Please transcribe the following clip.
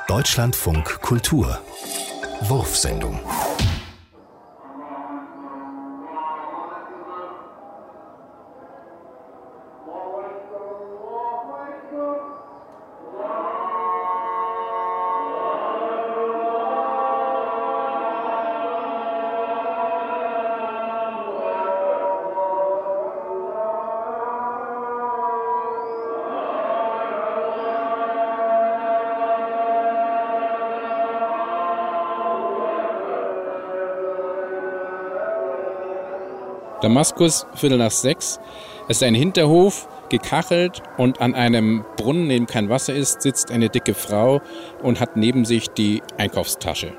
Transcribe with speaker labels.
Speaker 1: Deutschlandfunk Kultur Wurfsendung.
Speaker 2: Damaskus, 5:45. Es ist ein Hinterhof, gekachelt, und an einem Brunnen, in dem kein Wasser ist, sitzt eine dicke Frau und hat neben sich die Einkaufstasche.